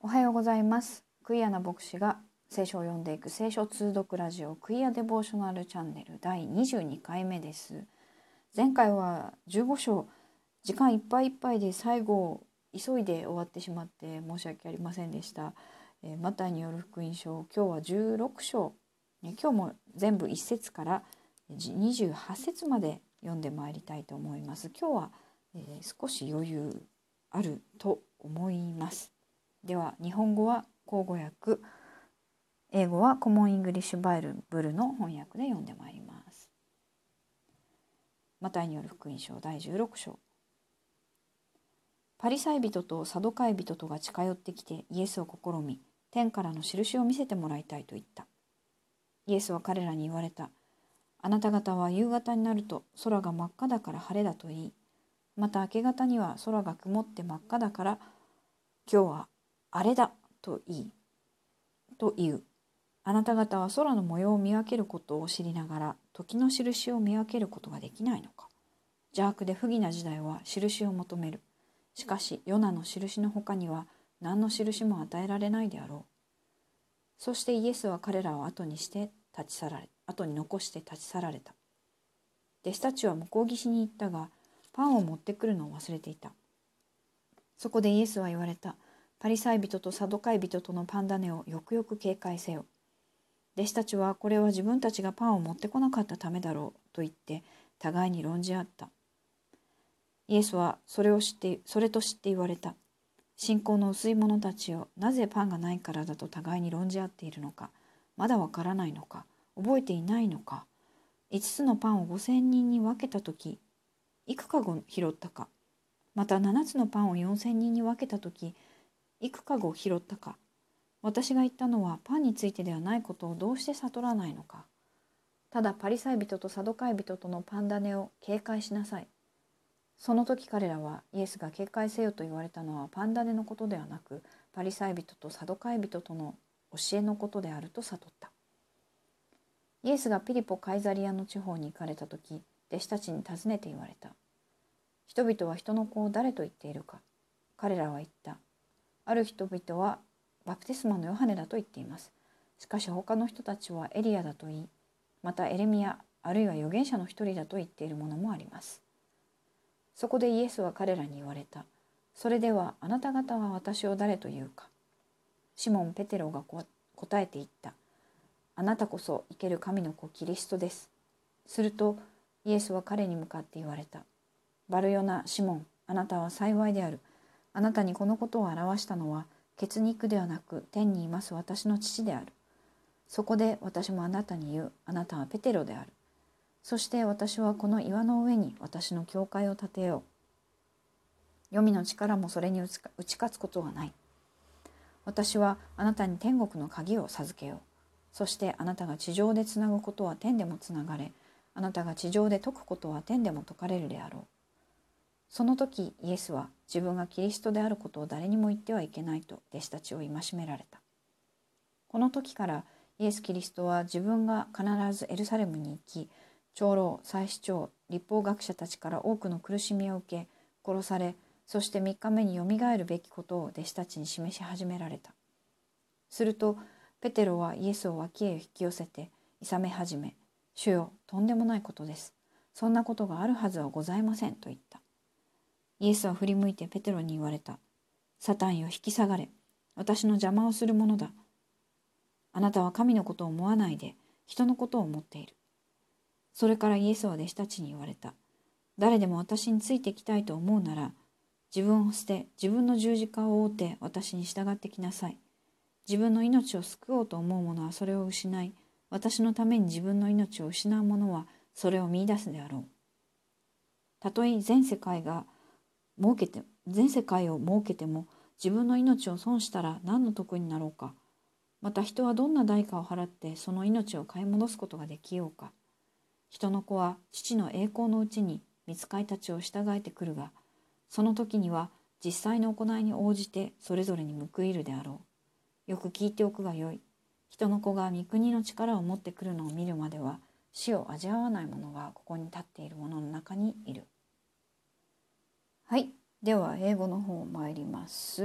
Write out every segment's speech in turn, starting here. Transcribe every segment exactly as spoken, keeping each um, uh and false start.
おはようございます。クイアな牧師が聖書を読んでいく聖書通読ラジオクイアデボーショナルチャンネルだいにじゅうにかいめです。前回はじゅうご章、時間いっぱいいっぱいで最後急いで終わってしまって申し訳ありませんでした。えー、マタイによる福音書、今日はじゅうろく章、ね、今日も全部いち節からにじゅうはち節まで読んでまいりたいと思います。今日は、えー、少し余裕あると思います。では日本語は口語訳、英語はコモンイングリッシュバイブルの翻訳で読んでまいります。マタイによる福音書だいじゅうろく章。パリサイ人とサドカイ人とが近寄ってきてイエスを試み、天からの印を見せてもらいたいと言った。イエスは彼らに言われた。あなた方は夕方になると空が真っ赤だから晴れだと言い、また明け方には空が曇って真っ赤だから今日は荒れだと言い、と言う。あなた方は空の模様を見分けることを知りながら、時の印を見分けることができないのか。邪悪で不義な時代は印を求める。しかし、ヨナの印の他には何の印も与えられないであろう。そしてイエスは彼らを後にして立ち去られ、後に残して立ち去られた。弟子たちは向こう岸に行ったが、パンを持ってくるのを忘れていた。そこでイエスは言われた。パリサイ人とサドカイ人とのパン種をよくよく警戒せよ。弟子たちはこれは自分たちがパンを持ってこなかったためだろうと言って互いに論じ合った。イエスはそれを知ってそれと知って言われた。信仰の薄い者たちよ、なぜパンがないからだと互いに論じ合っているのか。まだわからないのか。覚えていないのか。五つのパンを五千人に分けたとき、いくかご拾ったか。また七つのパンを四千人に分けたとき、いくかご拾ったか。私が言ったのはパンについてではないことをどうして悟らないのか。ただパリサイ人とサドカイ人とのパン種を警戒しなさい。その時彼らはイエスが警戒せよと言われたのはパン種のことではなく、パリサイ人とサドカイ人との教えのことであると悟った。イエスがピリポ・カイザリアの地方に行かれた時、弟子たちに尋ねて言われた。人々は人の子を誰と言っているか。彼らは言った。ある人々はバプテスマのヨハネだと言っています。しかし他の人たちはエリアだと言い、またエレミヤあるいは預言者の一人だと言っているものもあります。そこでイエスは彼らに言われた。それではあなた方は私を誰と言うか。シモン・ペテロが答えて言った。あなたこそ生ける神の子キリストです。するとイエスは彼に向かって言われた。バルヨナ・シモン、あなたは幸いである。あなたにこのことを表したのは血肉ではなく天にいます私の父である。そこで私もあなたに言う。あなたはペテロである。そして私はこの岩の上に私の教会を建てよう。黄泉の力もそれに打ち勝つことはない。私はあなたに天国の鍵を授けよう。そしてあなたが地上でつなぐことは天でもつながれ、あなたが地上で解くことは天でも解かれるであろう。その時イエスは自分がキリストであることを誰にも言ってはいけないと弟子たちを戒められた。この時からイエス・キリストは自分が必ずエルサレムに行き、長老、祭司長、律法学者たちから多くの苦しみを受け、殺され、そしてみっかめによみがえるべきことを弟子たちに示し始められた。するとペテロはイエスを脇へ引き寄せて諌め始め、主よ、とんでもないことです。そんなことがあるはずはございませんと言った。イエスは振り向いてペテロに言われた。サタンよ、引き下がれ。私の邪魔をするものだ。あなたは神のことを思わないで人のことを思っている。それからイエスは弟子たちに言われた。誰でも私についてきたいと思うなら、自分を捨て自分の十字架を追って私に従ってきなさい。自分の命を救おうと思う者はそれを失い、私のために自分の命を失う者はそれを見出すであろう。たとえ全世界が儲けて全世界を儲けても自分の命を損したら何の得になろうか。また人はどんな代価を払ってその命を買い戻すことができようか。人の子は父の栄光のうちに御使いたちを従えてくるが、その時には実際の行いに応じてそれぞれに報いるであろう。よく聞いておくがよい。人の子が御国の力を持ってくるのを見るまでは死を味わわない者がここに立っている者の中にいる。はい、では英語の方参ります。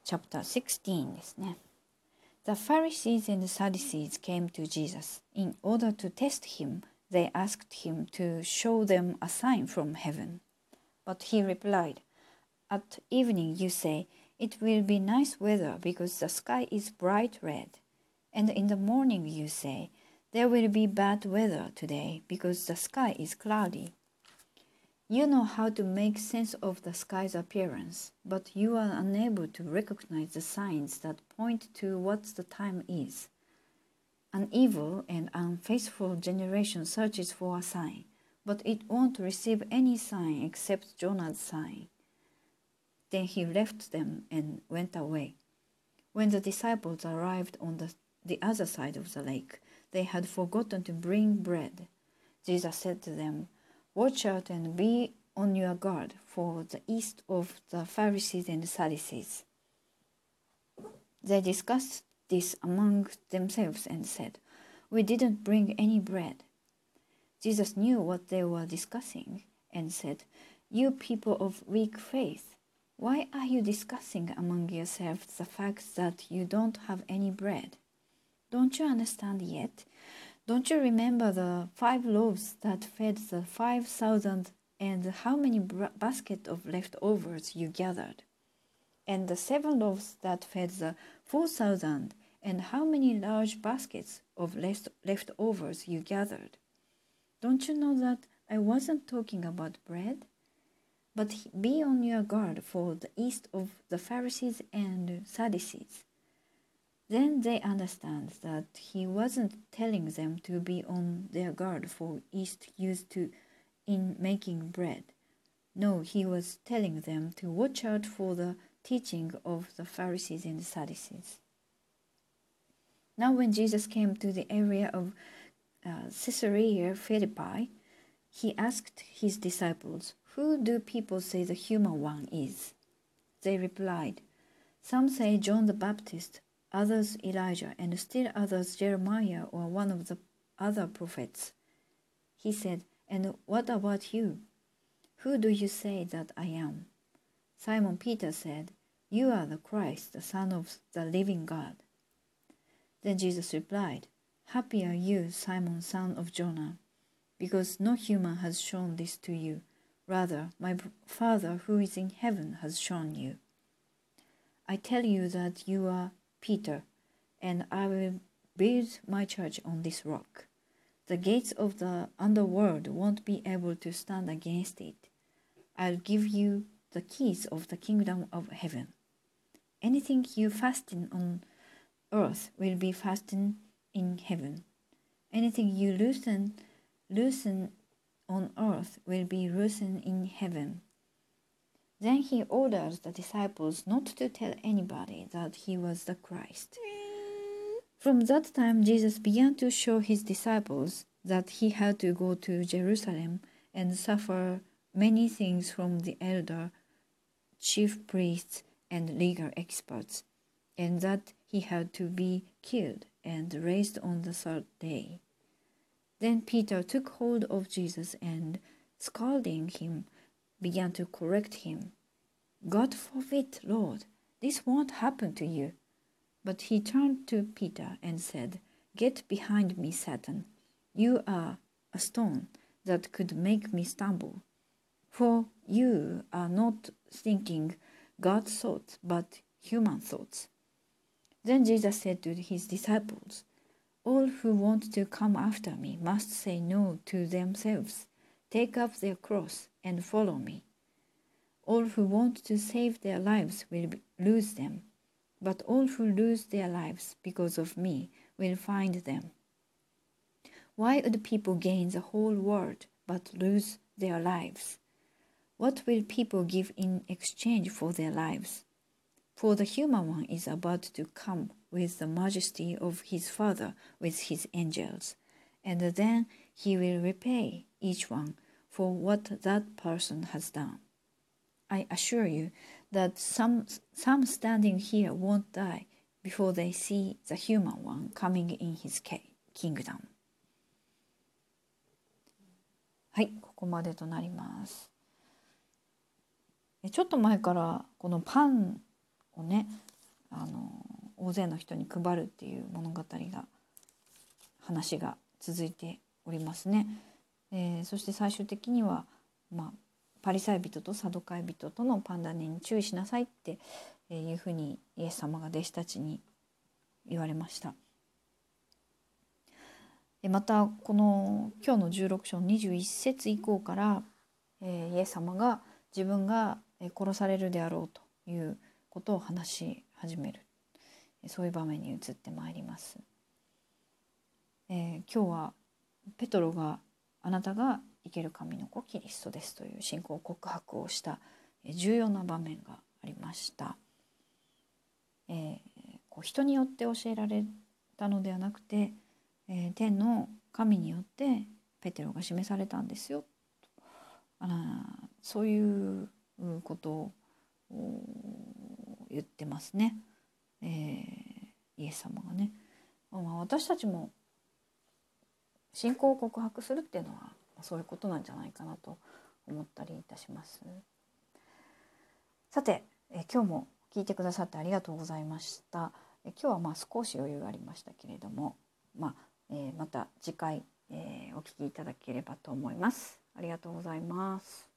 chapter sixteen ですね。The Pharisees and Sadducees came to Jesus. In order to test him, they asked him to show them a sign from heaven. But he replied, At evening you say, It will be nice weather because the sky is bright red. And in the morning you say, There will be bad weather today because the sky is cloudy. You know how to make sense of the sky's appearance, but you are unable to recognize the signs that point to what the time is. An evil and unfaithful generation searches for a sign, but it won't receive any sign except Jonah's sign. Then he left them and went away. When the disciples arrived on the, the other side of the lake, they had forgotten to bring bread. Jesus said to them, Watch out and be on your guard for the yeast of the Pharisees and Sadducees. They discussed this among themselves and said, We didn't bring any bread. Jesus knew what they were discussing and said, You people of weak faith, why are you discussing among yourselves the fact that you don't have any bread? Don't you understand yet? Don't you remember the five loaves that fed the five thousand and how many baskets of leftovers you gathered? And the seven loaves that fed the four thousand and how many large baskets of left leftovers you gathered? Don't you know that I wasn't talking about bread? But be on your guard for the yeast of the Pharisees and Sadducees. Then they understand that he wasn't telling them to be on their guard for yeast used to in making bread. No, he was telling them to watch out for the teaching of the Pharisees and Sadducees. Now when Jesus came to the area of uh, Caesarea Philippi, he asked his disciples, Who do people say the human one is? They replied, Some say John the Baptist, others Elijah, and still others Jeremiah or one of the other prophets. He said, And what about you? Who do you say that I am? Simon Peter said, You are the Christ, the Son of the living God. Then Jesus replied, Happy are you, Simon, son of Jonah, because no human has shown this to you. Rather, my Father who is in heaven has shown you. I tell you that you are Peter, and I will build my church on this rock. The gates of the underworld won't be able to stand against it. I'll give you the keys of the kingdom of heaven. Anything you fasten on earth will be fastened in heaven. Anything you loosen, loosen on earth will be loosened in heaven. Then he orders the disciples not to tell anybody that he was the Christ. From that time, Jesus began to show his disciples that he had to go to Jerusalem and suffer many things from the elder, chief priests, and legal experts, and that he had to be killed and raised on the third day. Then Peter took hold of Jesus and, scolding him, began to correct him. God forbid, Lord, this won't happen to you. But he turned to Peter and said, Get behind me, Satan. You are a stone that could make me stumble. For you are not thinking God's thoughts, but human thoughts. Then Jesus said to his disciples, All who want to come after me must say no to themselves, take up their cross, and follow me. All who want to save their lives will lose them, but all who lose their lives because of me will find them. Why would people gain the whole world but lose their lives? What will people give in exchange for their lives? For the human one is about to come with the majesty of his Father with his angels, and then he will repay each one for what that person has done. I assure you that some, some standing here won't die before they see the human one coming in his kingdom. はい、ここまでとなります。ちょっと前からこのパンをね、 あの大勢の人に配るっていう物語が話が続いておりますね。えー、そして最終的には、まあ、パリサイ人とサドカイ人とのパンダネに注意しなさいっていうふうにイエス様が弟子たちに言われました。またこの今日のじゅうろく章にじゅういち節以降から、えー、イエス様が自分が殺されるであろうということを話し始める、そういう場面に移ってまいります。えー、今日はペトロがあなたが生ける神の子キリストですという信仰告白をした重要な場面がありました。えー、こう人によって教えられたのではなくて、えー、天の神によってペテロが示されたんですよ、あそういうことを言ってますね、えー、イエス様がね。まあ、私たちも信仰を告白するっていうのはそういうことなんじゃないかなと思ったりいたします。さて、え今日も聞いてくださってありがとうございました。え今日はまあ少し余裕がありましたけれども、まあえー、また次回、えー、お聞きいただければと思います。ありがとうございます。